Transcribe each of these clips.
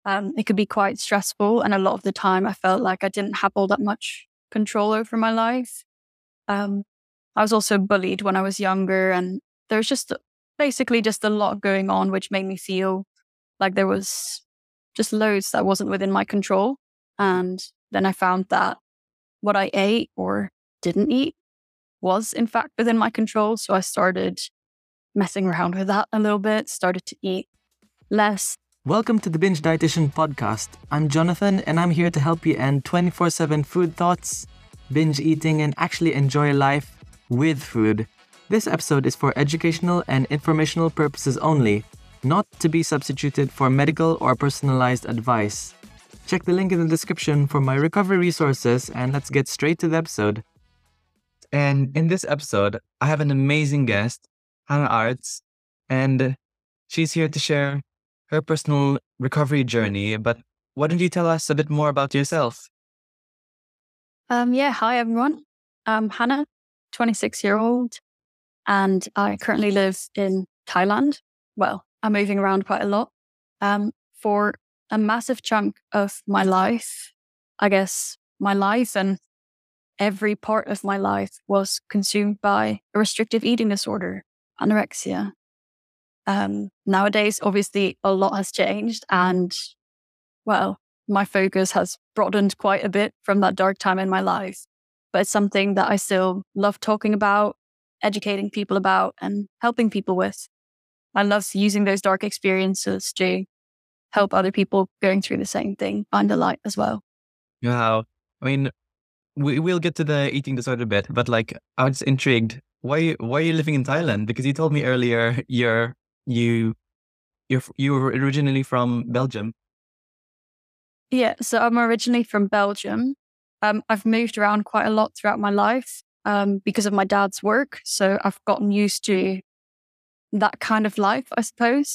It could be quite stressful. And a lot of the time I felt like I didn't have all that much control over my life. Um, I was also bullied when I was younger, and there's basically just a lot going on, which made me feel like there was just loads that wasn't within my control. And then I found that what I ate or didn't eat was in fact within my control. So I started messing around with that a little bit, started to eat less. Welcome to the Binge Dietitian Podcast. I'm Jonathan, and I'm here to help you end 24/7 food thoughts, binge eating, and actually enjoy life with food. This episode is for educational and informational purposes only, not to be substituted for medical or personalized advice. Check the link in the description for my recovery resources, and let's get straight to the episode. And in this episode, I have an amazing guest, Hannah Arts, and she's here to share her personal recovery journey. But why don't you tell us a bit more about yourself? Hi everyone. I'm Hannah, 26-year-old, and I currently live in Thailand. Well, I'm moving around quite a lot. For a massive chunk of my life, I guess my life and every part of my life was consumed by a restrictive eating disorder, anorexia. Nowadays, obviously, a lot has changed, and well, my focus has broadened quite a bit from that dark time in my life. But it's something that I still love talking about, educating people about, and helping people with. I love using those dark experiences to help other people going through the same thing find the light as well. Wow. I mean, we'll get to the eating disorder bit, but I was intrigued. Why are you living in Thailand? Because you told me earlier you were originally from Belgium. Yeah, so I'm originally from Belgium. I've moved around quite a lot throughout my life because of my dad's work. So I've gotten used to that kind of life, I suppose.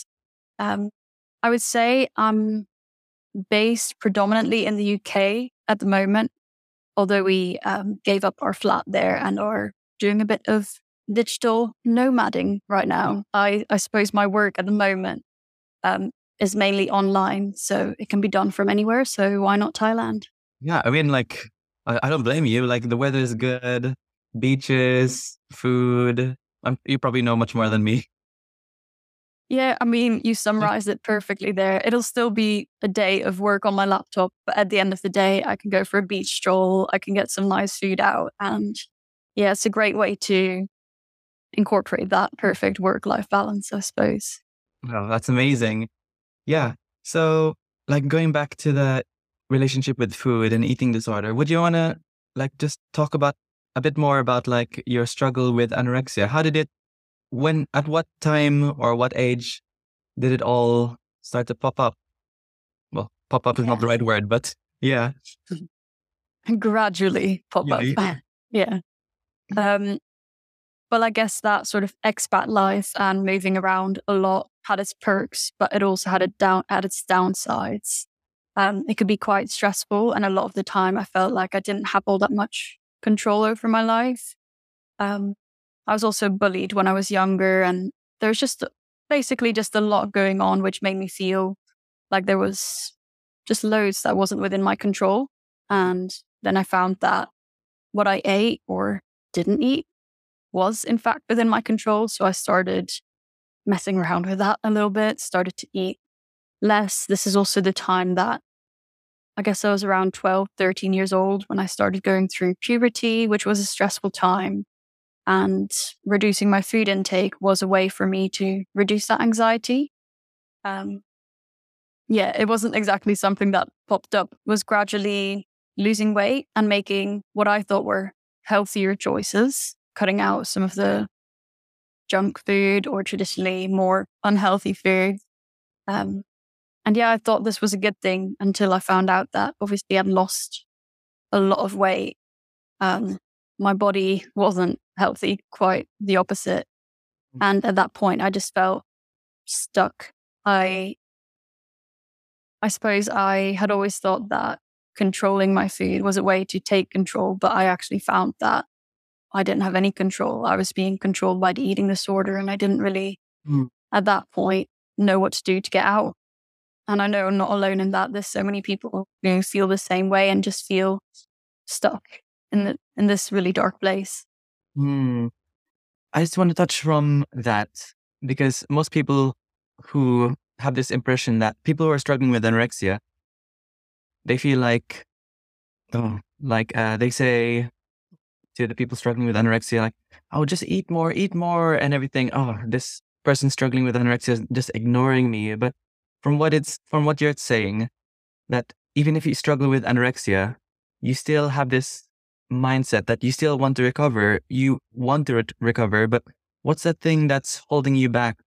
I would say I'm based predominantly in the UK at the moment, although we gave up our flat there and are doing a bit of digital nomading right now. I suppose my work at the moment is mainly online, so it can be done from anywhere. So why not Thailand? Yeah, I mean, I don't blame you. Like, the weather is good, beaches, food. You probably know much more than me. Yeah, I mean, you summarized it perfectly there. It'll still be a day of work on my laptop, but at the end of the day, I can go for a beach stroll. I can get some nice food out. And yeah, it's a great way to incorporate that perfect work-life balance, I suppose. Wow, that's amazing. Yeah. So, going back to the relationship with food and eating disorder, would you want to just talk about a bit more about your struggle with anorexia? How did it, at what time or what age did it all start to pop up? Well, pop up is not the right word, but yeah. Gradually pop up. Yeah. Well, I guess that sort of expat life and moving around a lot had its perks, but it also had its downsides. It could be quite stressful, and a lot of the time I felt like I didn't have all that much control over my life. I was also bullied when I was younger, and there's basically just a lot going on, which made me feel like there was just loads that wasn't within my control. And then I found that what I ate or didn't eat was in fact within my control. So I started messing around with that a little bit, started to eat less. This is also the time that I guess I was around 12, 13 years old when I started going through puberty, which was a stressful time. And reducing my food intake was a way for me to reduce that anxiety. It wasn't exactly something that popped up. It was gradually losing weight and making what I thought were healthier choices, cutting out some of the junk food or traditionally more unhealthy food. I thought this was a good thing until I found out that obviously I'd lost a lot of weight. My body wasn't healthy, quite the opposite. And at that point, I just felt stuck. I suppose I had always thought that controlling my food was a way to take control, but I actually found that I didn't have any control. I was being controlled by the eating disorder, and I didn't really, at that point, know what to do to get out. And I know I'm not alone in that. There's so many people who feel the same way and just feel stuck in this really dark place. Hmm. I just want to touch from that because most people who have this impression that people who are struggling with anorexia, they feel like, they say to the people struggling with anorexia, like, oh, just eat more and everything. Oh, this person struggling with anorexia is just ignoring me. But from what you're saying, that even if you struggle with anorexia, you still have this mindset that you still want to recover. You want to recover, but what's that thing that's holding you back?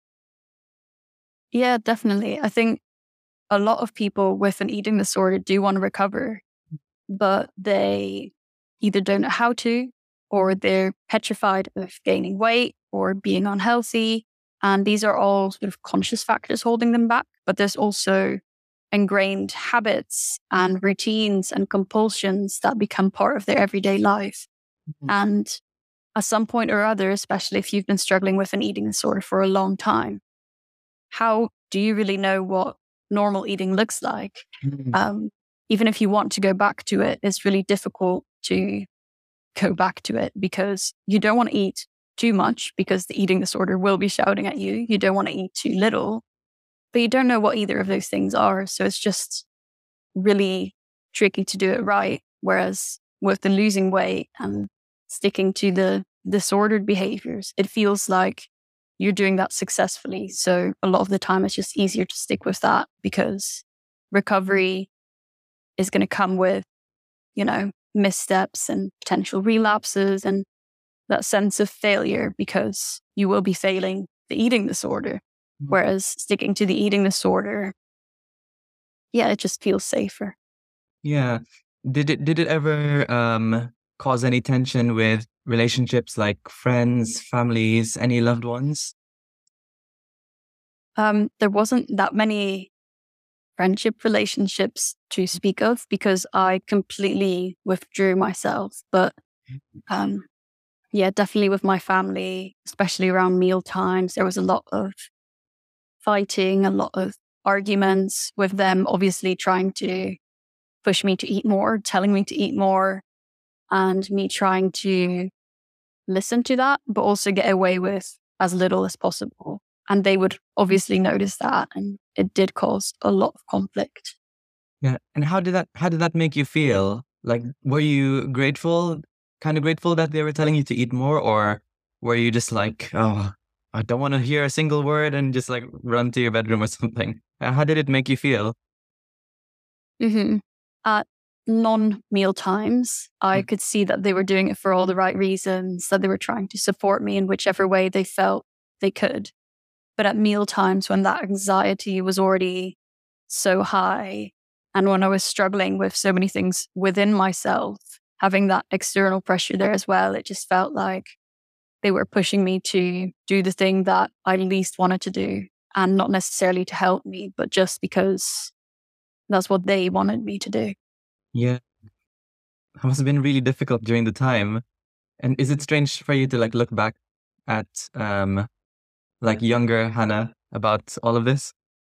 Yeah, definitely. I think a lot of people with an eating disorder do want to recover, but they either don't know how to, or they're petrified of gaining weight or being unhealthy. And these are all sort of conscious factors holding them back. But there's also ingrained habits and routines and compulsions that become part of their everyday life. Mhm. And at some point or other, especially if you've been struggling with an eating disorder for a long time, how do you really know what normal eating looks like? Mhm. Even if you want to go back to it, it's really difficult to go back to it because you don't want to eat too much because the eating disorder will be shouting at you. You don't want to eat too little, but you don't know what either of those things are. So it's just really tricky to do it right. Whereas with the losing weight and sticking to the disordered behaviors, it feels like you're doing that successfully. So a lot of the time, it's just easier to stick with that because recovery is going to come with, missteps and potential relapses and that sense of failure because you will be failing the eating disorder. Whereas sticking to the eating disorder, yeah, it just feels safer. Yeah. Did it ever cause any tension with relationships like friends, families, any loved ones? There wasn't that many friendship relationships to speak of because I completely withdrew myself. But um, yeah, definitely with my family, especially around meal times, there was a lot of fighting, a lot of arguments with them, obviously trying to push me to eat more, telling me to eat more, and me trying to listen to that, but also get away with as little as possible. And they would obviously notice that, and it did cause a lot of conflict. Yeah. And how did that make you feel? Like, were you grateful, kind of grateful that they were telling you to eat more, or were you just like, oh, I don't want to hear a single word and just like run to your bedroom or something? How did it make you feel? hmm At non meal times, I Mm. could see that they were doing it for all the right reasons, that they were trying to support me in whichever way they felt they could. But at meal times, when that anxiety was already so high, and when I was struggling with so many things within myself, having that external pressure there as well, it just felt like they were pushing me to do the thing that I least wanted to do. And not necessarily to help me, but just because that's what they wanted me to do. Yeah, it must have been really difficult during the time. And is it strange for you to like look back at like younger Hannah about all of this?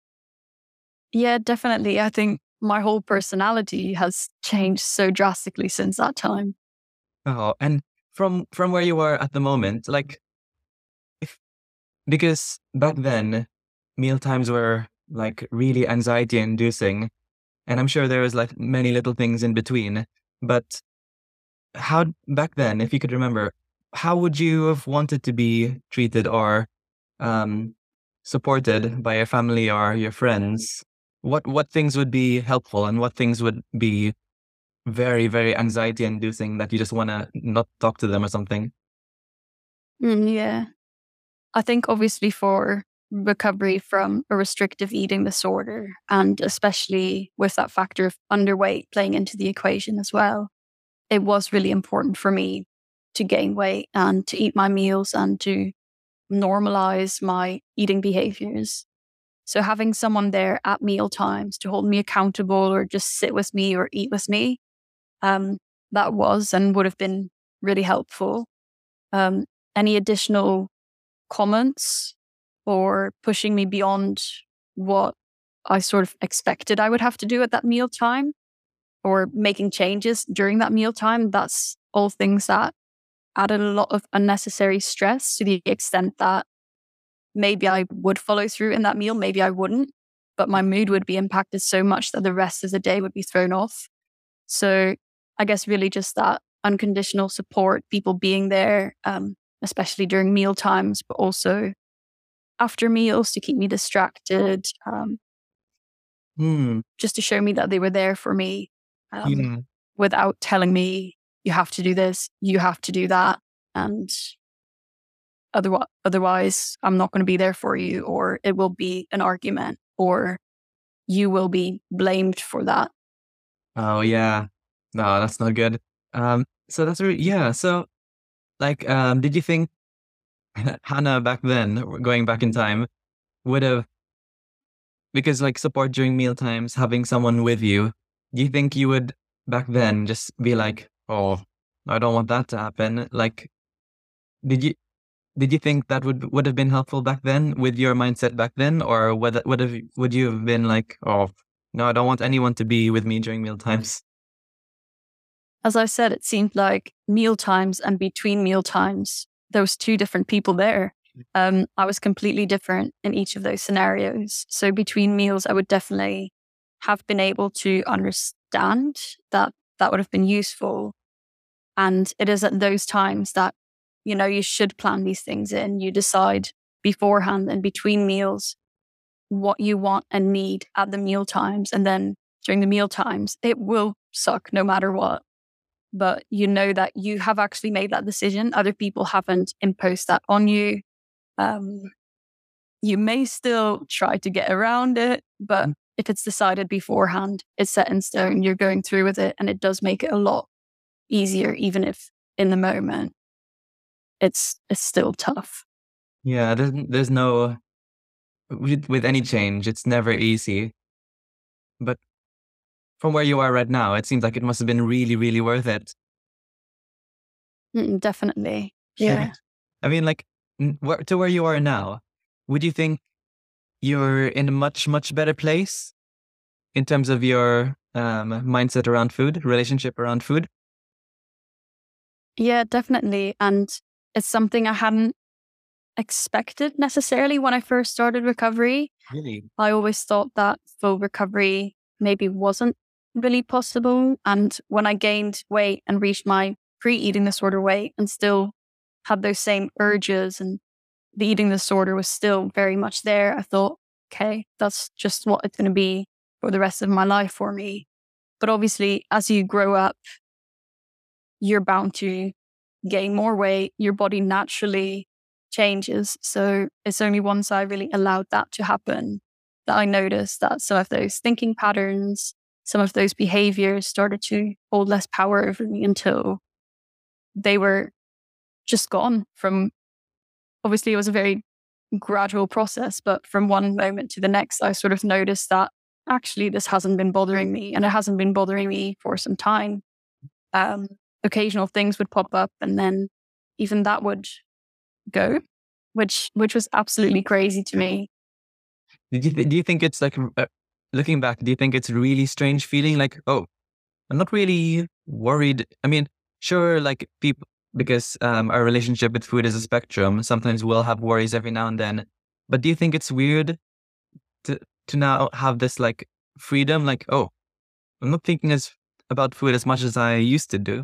Yeah, definitely. I think my whole personality has changed so drastically since that time. Oh, and from where you are at the moment, like if because back then meal times were like really anxiety inducing, and I'm sure there was like many little things in between. But how back then, if you could remember, how would you have wanted to be treated or um, supported by your family or your friends? What things would be helpful and what things would be very, very anxiety inducing that you just want to not talk to them or something? Yeah. I think obviously for recovery from a restrictive eating disorder, and especially with that factor of underweight playing into the equation as well, it was really important for me to gain weight and to eat my meals and to normalize my eating behaviors. So having someone there at meal times to hold me accountable or just sit with me or eat with me, um, that was and would have been really helpful. Any additional comments or pushing me beyond what I sort of expected I would have to do at that mealtime, or making changes during that mealtime. That's all things that added a lot of unnecessary stress, to the extent that maybe I would follow through in that meal, maybe I wouldn't, but my mood would be impacted so much that the rest of the day would be thrown off. So I guess really just that unconditional support, people being there, especially during meal times, but also after meals to keep me distracted, just to show me that they were there for me, without telling me, you have to do this, you have to do that, and otherwise I'm not going to be there for you, or it will be an argument, or you will be blamed for that. Oh yeah. No, that's not good. So that's really, yeah. So like, did you think Hannah back then, going back in time, would have, because like support during meal times, having someone with you, do you think you would back then just be like, oh, I don't want that to happen? Like, did you did you think that would have been helpful back then with your mindset back then, or would you have been like, oh, no, I don't want anyone to be with me during meal times? As I said, it seemed like meal times and between meal times, there was two different people there. I was completely different in each of those scenarios. So between meals, I would definitely have been able to understand that that would have been useful. And it is at those times that, you should plan these things in. You decide beforehand and between meals what you want and need at the meal times. And then during the meal times, it will suck no matter what. But you know that you have actually made that decision. Other people haven't imposed that on you. You may still try to get around it, but if it's decided beforehand, it's set in stone, you're going through with it, and it does make it a lot easier, even if in the moment it's still tough. Yeah, there's no, with any change, it's never easy. But from where you are right now, it seems like it must have been really, really worth it. Definitely. Yeah. I mean, like, to where you are now, would you think you're in a much, much better place in terms of your mindset around food, relationship around food? Yeah, definitely. And it's something I hadn't expected necessarily when I first started recovery. Really? I always thought that full recovery maybe wasn't really possible. And when I gained weight and reached my pre-eating disorder weight and still had those same urges, and the eating disorder was still very much there, I thought, okay, that's just what it's going to be for the rest of my life for me. But obviously, as you grow up, you're bound to gain more weight. Your body naturally changes. So it's only once I really allowed that to happen that I noticed that some of those thinking patterns, some of those behaviors started to hold less power over me, until they were just gone. From, obviously it was a very gradual process, but from one moment to the next, I sort of noticed that actually this hasn't been bothering me, and it hasn't been bothering me for some time. Occasional things would pop up, and then even that would go, which was absolutely crazy to me. Do you think it's like, looking back, do you think it's a really strange feeling? Like, oh, I'm not really worried. I mean, sure, like people, because our relationship with food is a spectrum. Sometimes we'll have worries every now and then. But do you think it's weird to now have this like freedom? Like, oh, I'm not thinking about food as much as I used to do.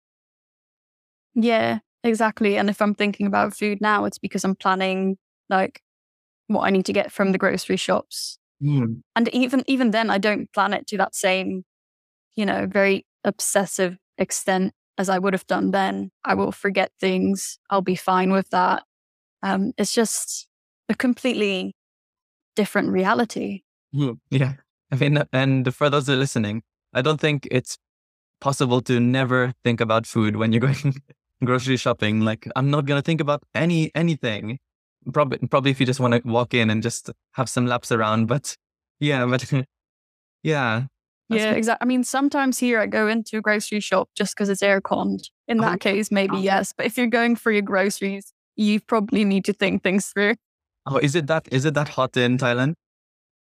Yeah, exactly. And if I'm thinking about food now, it's because I'm planning like what I need to get from the grocery shops. And even then, I don't plan it to that same, very obsessive extent as I would have done then. I will forget things. I'll be fine with that. It's just a completely different reality. Yeah. I mean, and for those that are listening, I don't think it's possible to never think about food when you're going grocery shopping. Like, I'm not going to think about anything. Probably if you just want to walk in and just have some laps around. But yeah, yeah. Yeah, exactly. I mean, sometimes here I go into a grocery shop just because it's air-conned. In that case, maybe yes. But if you're going for your groceries, you probably need to think things through. Oh, is it that hot in Thailand?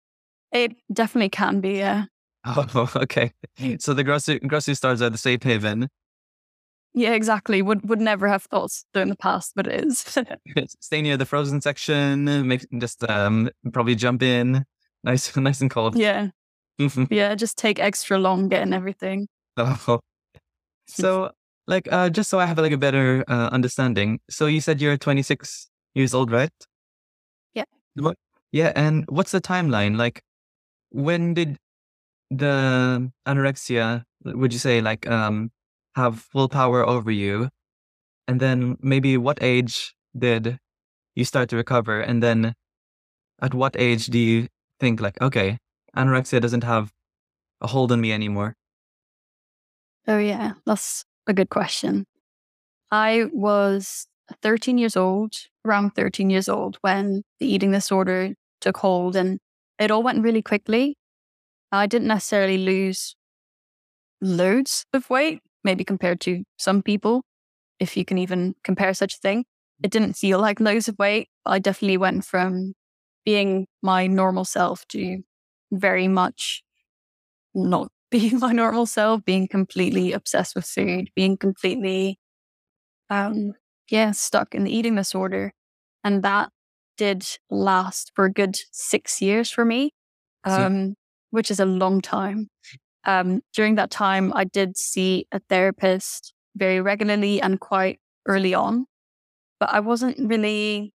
It definitely can be, yeah. Oh, okay. So the grocery stores are the safe haven. Yeah, exactly. Would never have thought so in the past, but it is. Stay near the frozen section. Make just probably jump in. Nice, nice and cold. Yeah. Yeah, just take extra long getting everything. Oh. So, like, just so I have like a better understanding. So you said you're 26 years old, right? Yeah. What? Yeah, and what's the timeline? Like, when did the anorexia, would you say, like, have full power over you? And then maybe what age did you start to recover? And then at what age do you think, like, okay, anorexia doesn't have a hold on me anymore? Oh yeah, that's a good question. I was 13 years old, around 13 years old, when the eating disorder took hold, and it all went really quickly. I didn't necessarily lose loads of weight, maybe compared to some people, if you can even compare such a thing. It didn't feel like loads of weight. I definitely went from being my normal self to very much not being my normal self, being completely obsessed with food, being completely stuck in the eating disorder. And that did last for a good 6 years for me, See? which is a long time. During that time, I did see a therapist very regularly and quite early on, but I wasn't really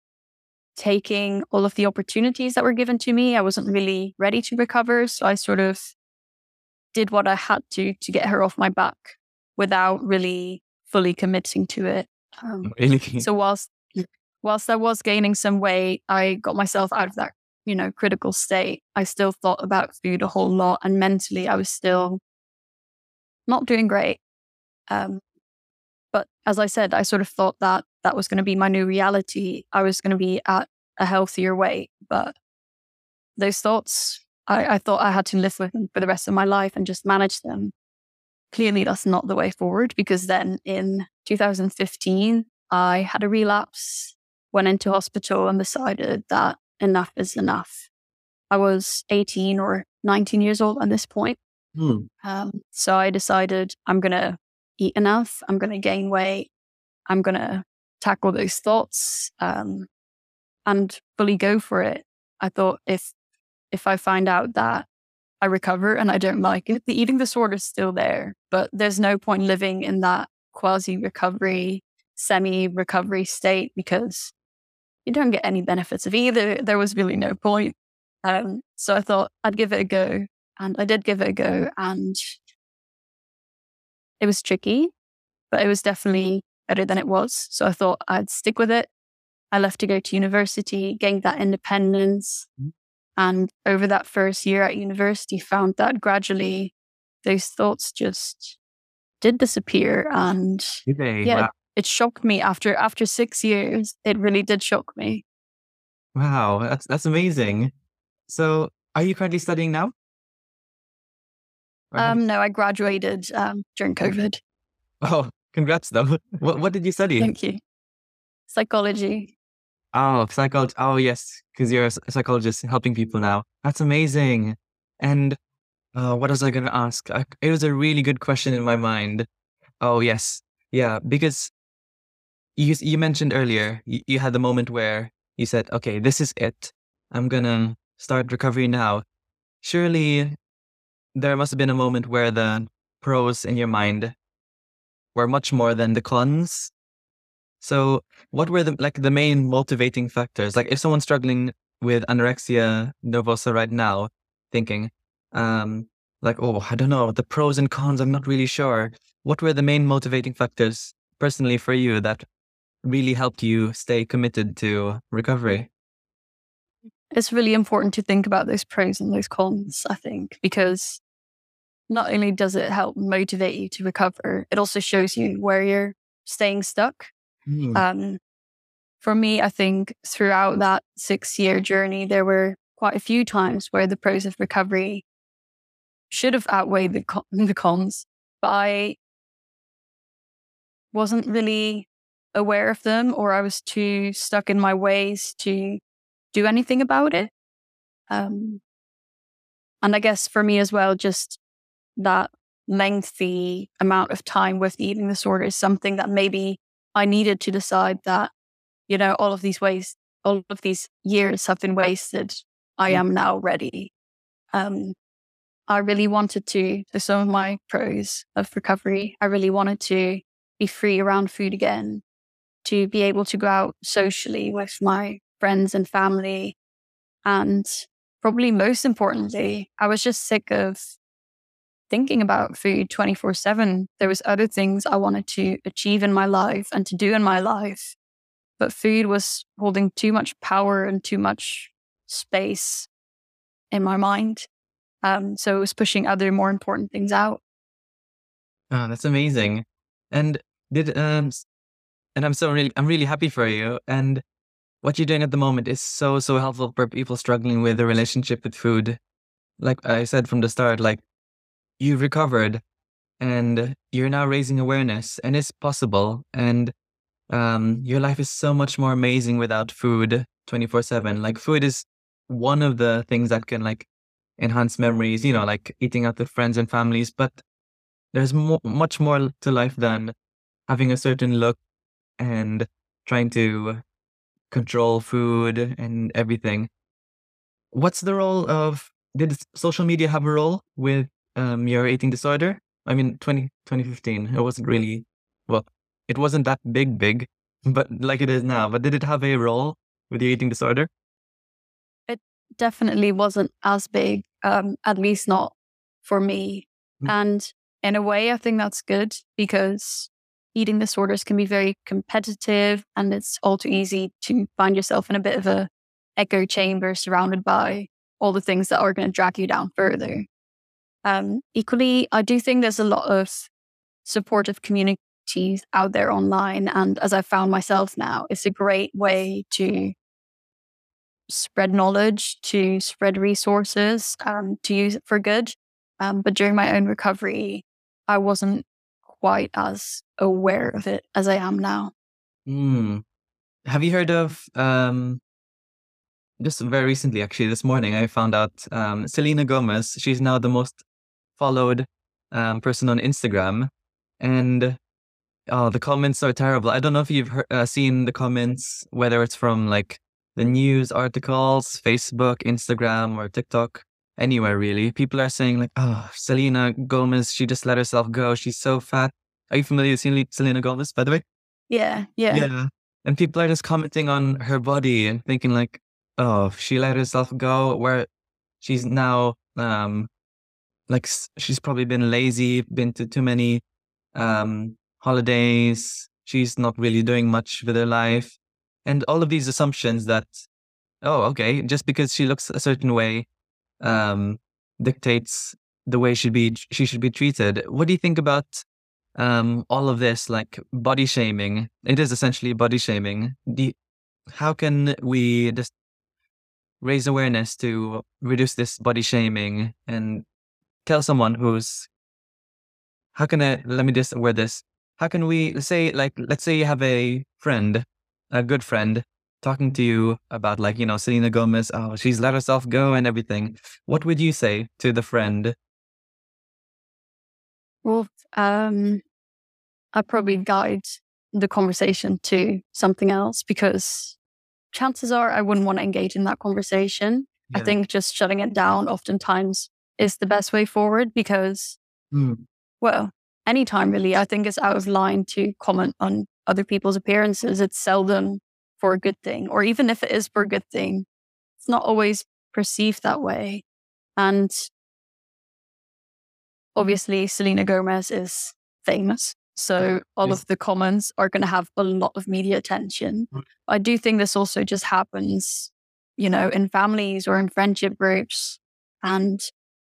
taking all of the opportunities that were given to me. I wasn't really ready to recover. So I sort of did what I had to get her off my back without really fully committing to it. Really? So whilst I was gaining some weight, I got myself out of that, critical state. I still thought about food a whole lot, and mentally I was still not doing great. Um, but as I said, I sort of thought that that was going to be my new reality. I was going to be at a healthier weight, but those thoughts, I thought I had to live with them for the rest of my life and just manage them. Clearly, that's not the way forward, because then in 2015, I had a relapse, went into hospital, and decided that enough is enough. I was 18 or 19 years old at this point. Hmm. So I decided I'm going to eat enough. I'm going to gain weight. I'm going to tackle those thoughts and fully go for it. I thought if I find out that I recover and I don't like it, the eating disorder is still there, but there's no point living in that quasi recovery, semi recovery state, because you don't get any benefits of either. There was really no point. So I thought I'd give it a go, and I did give it a go, and it was tricky, but it was definitely better than it was. So I thought I'd stick with it. I left to go to university, gained that independence. And over that first year at university, found that gradually those thoughts just did disappear. And Okay. yeah, Wow. it shocked me after 6 years. It really did shock me. Wow. That's amazing. So, are you currently studying now? Or have you? No, I graduated during COVID. Oh, congrats though. What did you study? Thank you. Psychology. Oh, psychology. Oh, yes, because you're a psychologist helping people now. That's amazing. And what was I going to ask? It was a really good question in my mind. Oh, yes. Yeah, because you mentioned earlier, you had the moment where you said, okay, this is it. I'm going to start recovery now. Surely there must have been a moment where the pros in your mind were much more than the cons. So what were the main motivating factors? Like if someone's struggling with anorexia nervosa right now, thinking, like, oh, I don't know, the pros and cons, I'm not really sure. What were the main motivating factors personally for you that really helped you stay committed to recovery? It's really important to think about those pros and those cons, I think, because not only does it help motivate you to recover, it also shows you where you're staying stuck. Hmm. For me, I think throughout that 6 year journey, there were quite a few times where the pros of recovery should have outweighed the cons, but I wasn't really aware of them, or I was too stuck in my ways to do anything about it. And I guess for me as well, just that lengthy amount of time with the eating disorder is something that maybe I needed to decide that, all of these years have been wasted. I am now ready. I really wanted to, there's some of my pros of recovery. I really wanted to be free around food again, to be able to go out socially with my friends and family. And probably most importantly, I was just sick of thinking about food 24/7. There was other things I wanted to achieve in my life and to do in my life, but food was holding too much power and too much space in my mind. So it was pushing other more important things out. Oh, that's amazing. And did and I'm really happy for you. And what you're doing at the moment is so helpful for people struggling with a relationship with food. Like I said from the start, like you've recovered and you're now raising awareness, and it's possible. And your life is so much more amazing without food 24/7. Like food is one of the things that can like enhance memories, like eating out with friends and families. But there's much more to life than having a certain look and trying to control food and everything. What's the role of, did social media have a role with your eating disorder? I mean, 2015, it wasn't really, well, it wasn't that big, but like it is now. But did it have a role with your eating disorder? It definitely wasn't as big, at least not for me. Mm. And in a way, I think that's good because eating disorders can be very competitive, and it's all too easy to find yourself in a bit of a echo chamber surrounded by all the things that are going to drag you down further. Equally, I do think there's a lot of supportive communities out there online. And as I found myself now, it's a great way to spread knowledge, to spread resources, to use it for good. But during my own recovery, I wasn't quite as aware of it as I am now. Have you heard of, just very recently, actually, this morning, I found out Selena Gomez, she's now the most followed person on Instagram. And the comments are terrible. I don't know if you've seen the comments, whether it's from like the news articles, Facebook, Instagram, or TikTok, anywhere really. People are saying like, oh, Selena Gomez, she just let herself go. She's so fat. Are you familiar with Selena Gomez, by the way? Yeah. Yeah. And people are just commenting on her body and thinking like, oh, she let herself go, where she's now, she's probably been lazy, been to too many holidays. She's not really doing much with her life. And all of these assumptions that, oh, okay, just because she looks a certain way, dictates the way she should be treated. What do you think about all of this, like body shaming? It is essentially body shaming. How can we just raise awareness to reduce this body shaming and tell someone let me just word this. How can we, let's say you have a friend, a good friend, talking to you about Selena Gomez, oh, she's let herself go and everything. What would you say to the friend? Well, I'd probably guide the conversation to something else, because chances are I wouldn't want to engage in that conversation. Yeah. I think just shutting it down oftentimes is the best way forward, because, well, anytime really, I think it's out of line to comment on other people's appearances. It's seldom for a good thing, or even if it is for a good thing, it's not always perceived that way. And obviously, Selena Gomez is famous, so all of the comments are going to have a lot of media attention. I do think this also just happens, in families or in friendship groups. And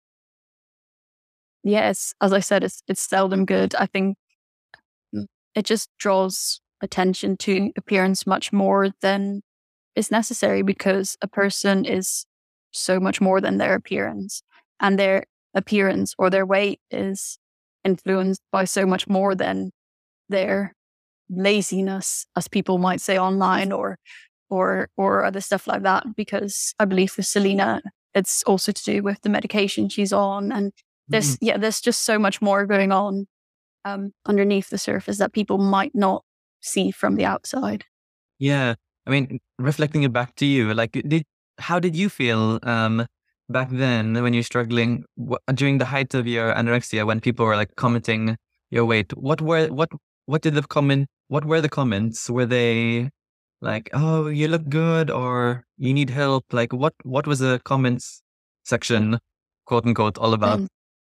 yes, as I said, it's seldom good. I think it just draws attention to appearance much more than is necessary, because a person is so much more than their appearance, and their appearance or their weight is influenced by so much more than their laziness, as people might say online, or other stuff like that. Because I believe for Selena, it's also to do with the medication she's on. And there's just so much more going on underneath the surface that people might not see from the outside. Yeah. I mean, reflecting it back to you, like, how did you feel back then when you're struggling during the height of your anorexia, when people were like commenting your weight? What were the comments? Were they like, "Oh, you look good," or "You need help"? Like, what was the comments section, quote unquote, all about?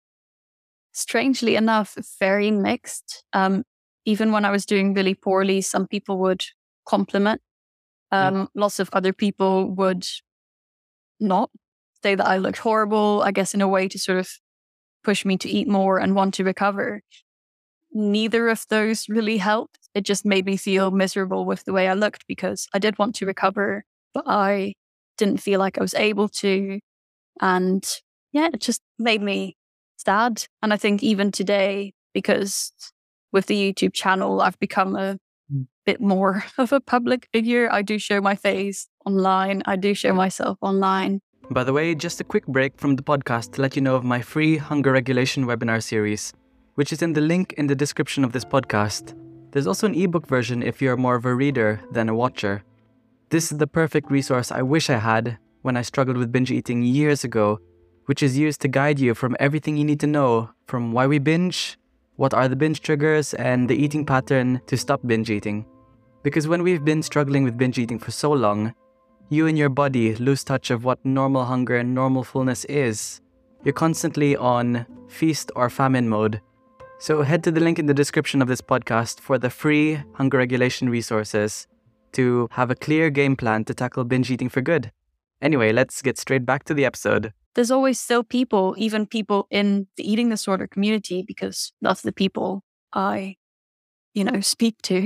Strangely enough, very mixed. Even when I was doing really poorly, some people would compliment. Lots of other people would not, say that I looked horrible, I guess in a way to sort of push me to eat more and want to recover. Neither of those really helped. It just made me feel miserable with the way I looked, because I did want to recover, but I didn't feel like I was able to. And yeah, it just made me sad. And I think even today, because with the YouTube channel, I've become a bit more of a public figure. I do show my face online. I do show myself online. By the way, just a quick break from the podcast to let you know of my free hunger regulation webinar series, which is in the link in the description of this podcast. There's also an ebook version if you're more of a reader than a watcher. This is the perfect resource I wish I had when I struggled with binge eating years ago, which is used to guide you from everything you need to know, from why we binge, what are the binge triggers, and the eating pattern to stop binge eating. Because when we've been struggling with binge eating for so long, you and your body lose touch of what normal hunger and normal fullness is. You're constantly on feast or famine mode. So head to the link in the description of this podcast for the free hunger regulation resources to have a clear game plan to tackle binge eating for good. Anyway, let's get straight back to the episode. There's always still people, even people in the eating disorder community, because that's the people I, speak to,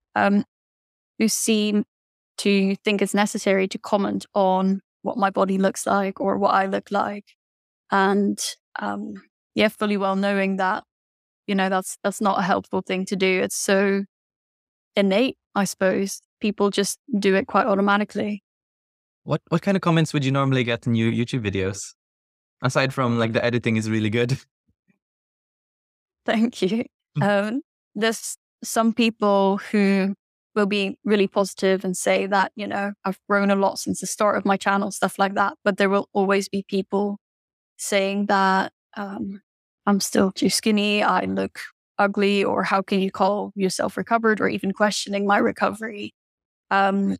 who seem to think it's necessary to comment on what my body looks like or what I look like. And fully well knowing that, that's not a helpful thing to do. It's so innate, I suppose. People just do it quite automatically. What kind of comments would you normally get in your YouTube videos? Aside from like the editing is really good. Thank you. There's some people who will be really positive and say that, I've grown a lot since the start of my channel, stuff like that. But there will always be people saying that I'm still too skinny, I look ugly, or how can you call yourself recovered, or even questioning my recovery. And,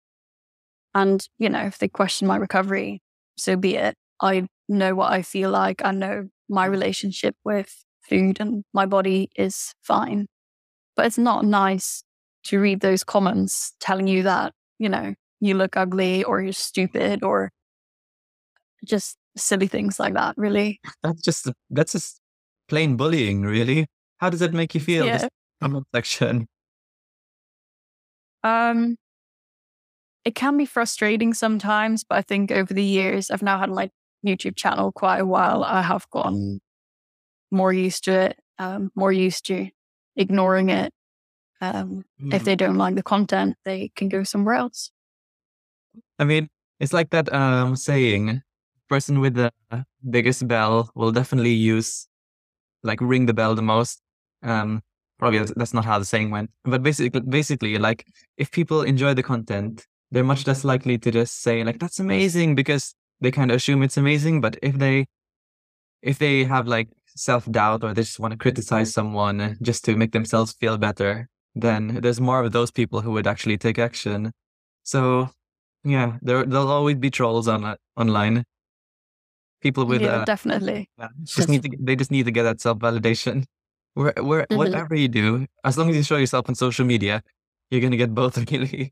if they question my recovery, so be it. I know what I feel like. I know my relationship with food and my body is fine. But it's not nice to read those comments telling you that, you look ugly or you're stupid or just silly things like that, really. That's just plain bullying, really. How does that make you feel, this comment section? It can be frustrating sometimes, but I think over the years, I've now had my YouTube channel quite a while. I have gotten more used to it, more used to ignoring it. If they don't like the content, they can go somewhere else. I mean, it's like that saying, person with the biggest bell will definitely ring the bell the most. Probably that's not how the saying went. But basically, like, if people enjoy the content, they're much less likely to just say like, that's amazing, because they kind of assume it's amazing. But if they have like self-doubt, or they just want to criticize someone just to make themselves feel better, then there's more of those people who would actually take action. So yeah, there'll always be trolls online. People with definitely they just need to get that self-validation. Whatever you do, as long as you show yourself on social media, you're gonna get both, really.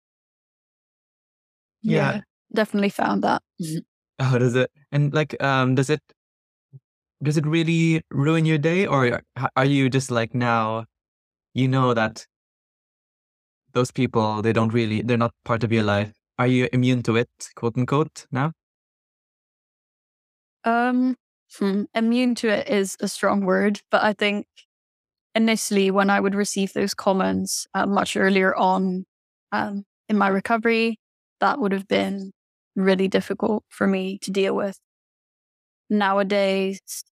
Yeah, definitely found that. Oh, does it? And like, does it really ruin your day, or are you just like, now that those people, they're not part of your life? Are you immune to it, quote unquote, now? Immune to it is a strong word, but I think initially when I would receive those comments much earlier on in my recovery, that would have been really difficult for me to deal with. Nowadays,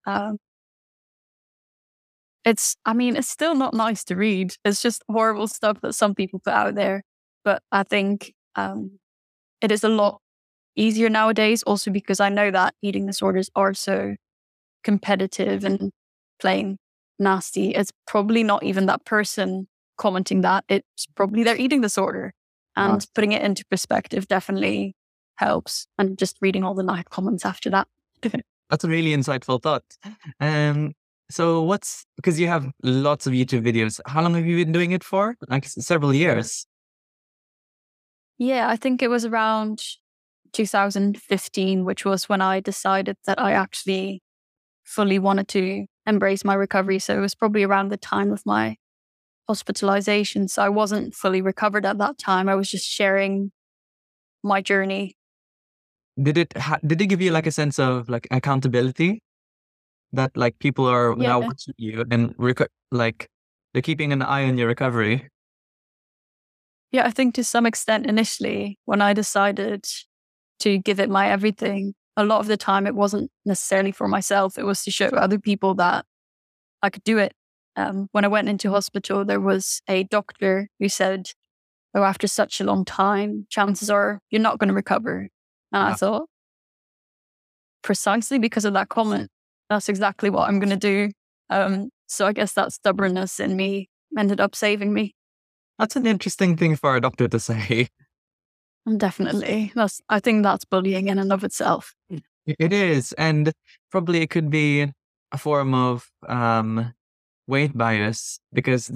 it's still not nice to read. It's just horrible stuff that some people put out there. But I think it is a lot easier nowadays, also because I know that eating disorders are so competitive and plain nasty. It's probably not even that person commenting that. It's probably their eating disorder. And putting it into perspective definitely helps. And just reading all the nice comments after that. That's a really insightful thought. So because you have lots of YouTube videos, how long have you been doing it for? Like several years. Yeah, I think it was around 2015, which was when I decided that I actually fully wanted to embrace my recovery. So it was probably around the time of my hospitalization. So I wasn't fully recovered at that time. I was just sharing my journey. Did it give you like a sense of like accountability that like people are now watching you and like they're keeping an eye on your recovery? Yeah, I think to some extent initially when I decided to give it my everything, a lot of the time it wasn't necessarily for myself. It was to show other people that I could do it. When I went into hospital, there was a doctor who said, "Oh, after such a long time, chances are you're not going to recover." And I thought, precisely because of that comment, that's exactly what I'm going to do. So I guess that stubbornness in me ended up saving me. That's an interesting thing for a doctor to say. Definitely. I think that's bullying in and of itself. It is. And probably it could be a form of weight bias because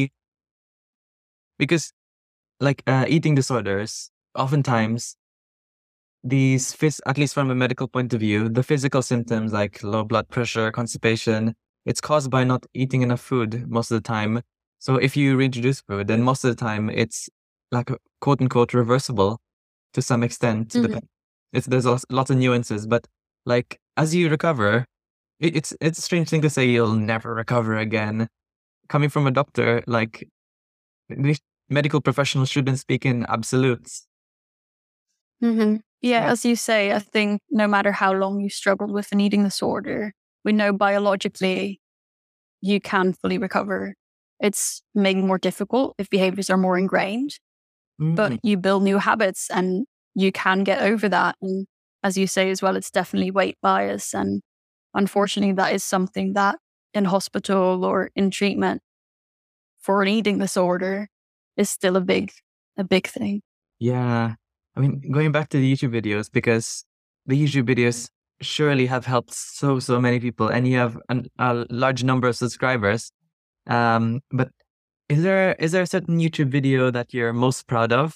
like eating disorders, oftentimes these, at least from a medical point of view, the physical symptoms like low blood pressure, constipation, it's caused by not eating enough food most of the time. So if you reintroduce food, then most of the time it's like quote unquote reversible to some extent. Mm-hmm. There's lots of nuances, but like as you recover, it's a strange thing to say you'll never recover again. Coming from a doctor, like medical professionals shouldn't speak in absolutes. Mm-hmm. Yeah, as you say, I think no matter how long you struggled with an eating disorder, we know biologically you can fully recover. It's maybe more difficult if behaviors are more ingrained, but you build new habits and you can get over that. And as you say as well, it's definitely weight bias. And unfortunately, that is something that in hospital or in treatment for an eating disorder is still a big thing. Yeah. I mean, going back to the YouTube videos, because the YouTube videos surely have helped so many people and you have a large number of subscribers. But is there a certain YouTube video that you're most proud of?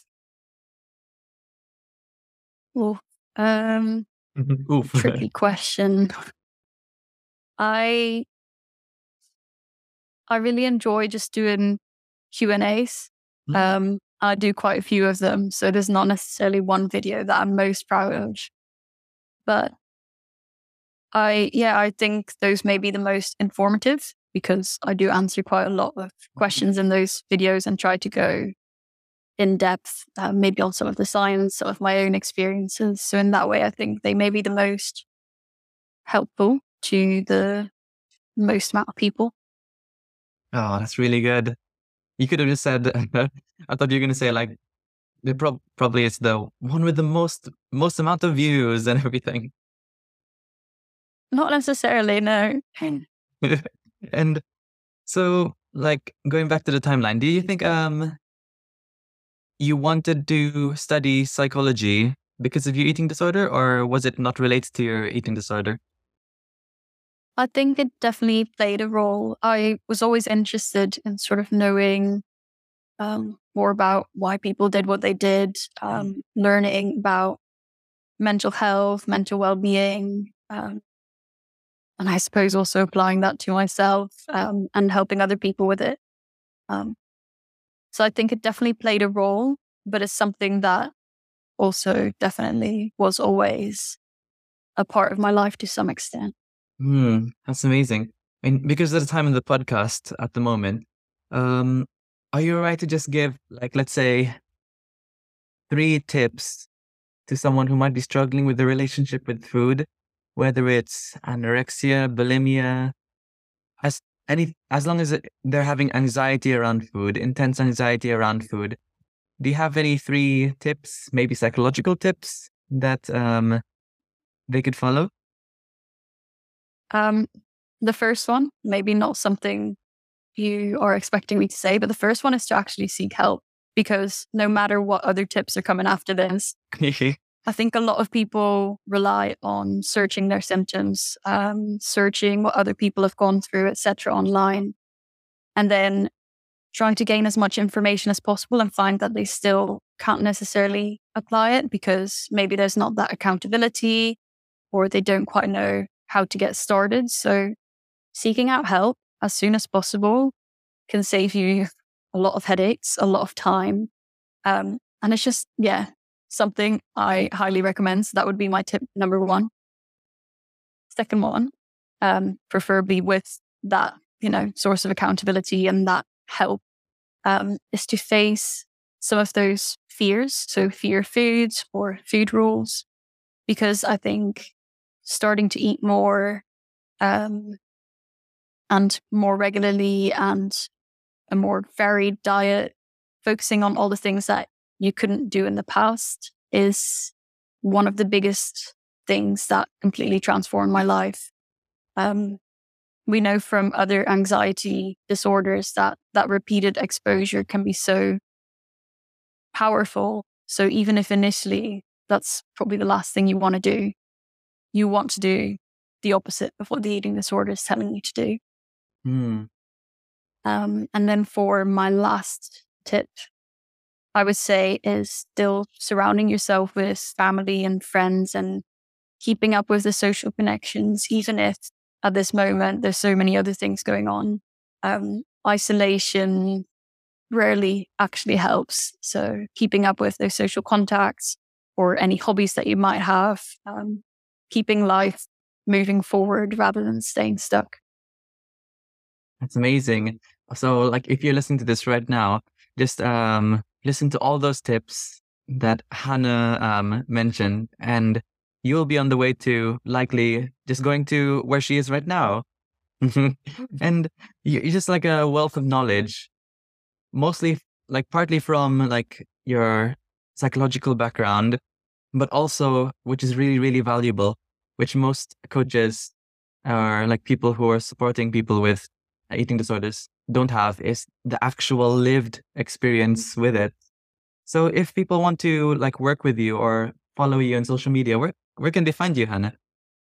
Oh, Oof. tricky question. I really enjoy just doing Q&As. I do quite a few of them, so there's not necessarily one video that I'm most proud of. But I think those may be the most informative because I do answer quite a lot of questions in those videos and try to go in depth, maybe on some of the science, some of my own experiences. So in that way, I think they may be the most helpful to the most amount of people. Oh, that's really good. You could have just said, I thought you were going to say like, it probably it's the one with the most amount of views and everything. Not necessarily, no. And so, like, going back to the timeline, do you think you wanted to study psychology because of your eating disorder, or was it not related to your eating disorder? I think it definitely played a role. I was always interested in sort of knowing more about why people did what they did, learning about mental health, mental well-being, and I suppose also applying that to myself and helping other people with it. So I think it definitely played a role, but it's something that also definitely was always a part of my life to some extent. That's amazing. And because of the time of the podcast at the moment, are you all right to just give, like, let's say 3 tips to someone who might be struggling with the relationship with food, whether it's anorexia, bulimia, as long as they're having anxiety around food, intense anxiety around food. Do you have any 3 tips, maybe psychological tips that they could follow? The first one, maybe not something you are expecting me to say, but the first one is to actually seek help, because no matter what other tips are coming after this, I think a lot of people rely on searching their symptoms, searching what other people have gone through, etc., online, and then trying to gain as much information as possible and find that they still can't necessarily apply it because maybe there's not that accountability or they don't quite know how to get started. So seeking out help as soon as possible can save you a lot of headaches, a lot of time. And it's just, something I highly recommend. So that would be my tip number 1. Second one, preferably with that, source of accountability and that help, is to face some of those fears. So fear foods or food rules, because I think starting to eat more and more regularly and a more varied diet, focusing on all the things that you couldn't do in the past, is one of the biggest things that completely transformed my life. We know from other anxiety disorders that repeated exposure can be so powerful. So even if initially that's probably the last thing you want to do, you want to do the opposite of what the eating disorder is telling you to do. And then for my last tip, I would say is still surrounding yourself with family and friends and keeping up with the social connections, even if at this moment there's so many other things going on. Isolation rarely actually helps. So keeping up with those social contacts or any hobbies that you might have, keeping life moving forward rather than staying stuck. That's amazing. So like if you're listening to this right now, just listen to all those tips that Hannah mentioned, and you'll be on the way to likely just going to where she is right now. And you're just like a wealth of knowledge, mostly like partly from like your psychological background, but also, which is really, really valuable, which most coaches or like people who are supporting people with eating disorders don't have, is the actual lived experience with it. So if people want to like work with you or follow you on social media, where can they find you, Hannah?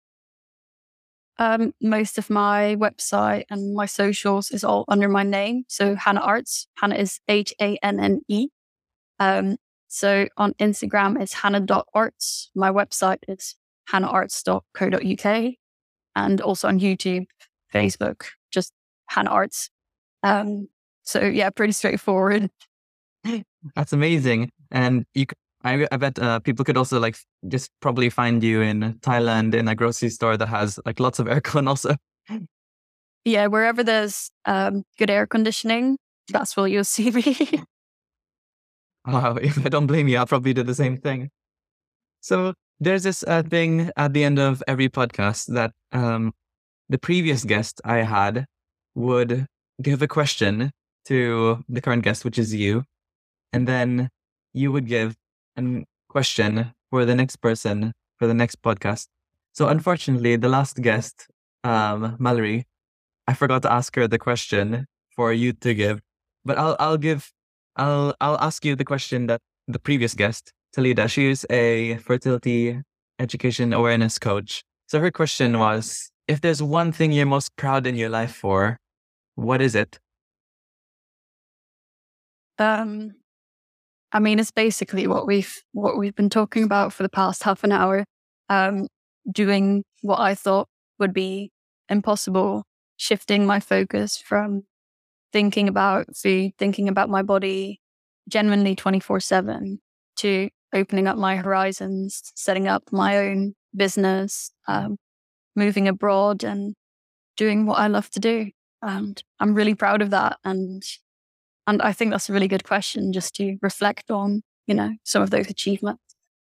Most of my website and my socials is all under my name. So Hannah Arts. Hannah is Hanne. So on Instagram it's hannah.arts. My website is hannaharts.co.uk. And also on YouTube, Facebook, just Hannah Arts. So yeah, pretty straightforward. That's amazing. And I bet people could also like just probably find you in Thailand in a grocery store that has like lots of aircon also. Yeah, wherever there's good air conditioning, that's where you'll see me. Wow, if I don't blame you, I'll probably do the same thing. So there's this thing at the end of every podcast that the previous guest I had would give a question to the current guest, which is you. And then you would give a question for the next person for the next podcast. So unfortunately, the last guest, Mallory, I forgot to ask her the question for you to give. But I'll ask you the question that the previous guest, Talida, she is a fertility education awareness coach. So her question was, if there's one thing you're most proud in your life for, what is it? I mean, it's basically what we've been talking about for the past half an hour. Doing what I thought would be impossible, shifting my focus from thinking about food, thinking about my body, genuinely 24/7, to opening up my horizons, setting up my own business, moving abroad, and doing what I love to do. And I'm really proud of that. And I think that's a really good question just to reflect on, some of those achievements.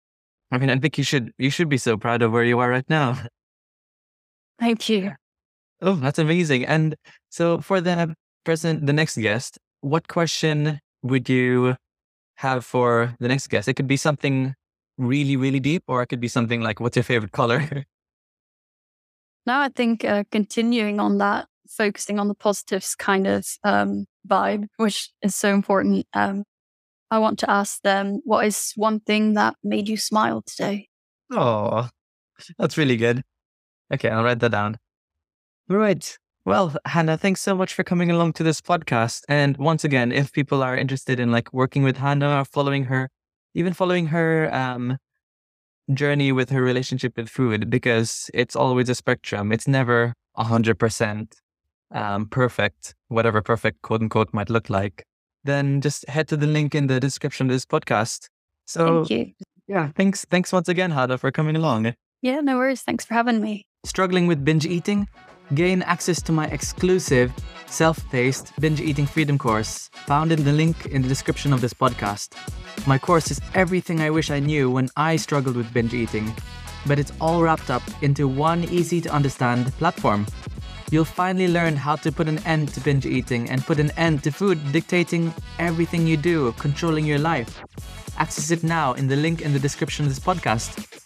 I mean, I think you should be so proud of where you are right now. Thank you. Oh, that's amazing. And so for the next guest, what question would you have for the next guest? It could be something really, really deep, or it could be something like, what's your favorite color? Now, I think continuing on that, focusing on the positives kind of vibe, which is so important. I want to ask them, what is one thing that made you smile today? Oh, that's really good. Okay, I'll write that down. All right. Well, Hannah, thanks so much for coming along to this podcast. And once again, if people are interested in like working with Hannah or following her, even following her journey with her relationship with food, because it's always a spectrum. It's never 100% perfect, whatever perfect quote unquote might look like. Then just head to the link in the description of this podcast. So Thank you. yeah, thanks once again, Hannah, for coming along. Yeah, no worries. Thanks for having me. Struggling with binge eating? Gain access to my exclusive self-paced binge eating freedom course found in the link in the description of this podcast. My course is everything I wish I knew when I struggled with binge eating, but it's all wrapped up into one easy to understand platform. You'll finally learn how to put an end to binge eating and put an end to food dictating everything you do, controlling your life. Access it now in the link in the description of this podcast.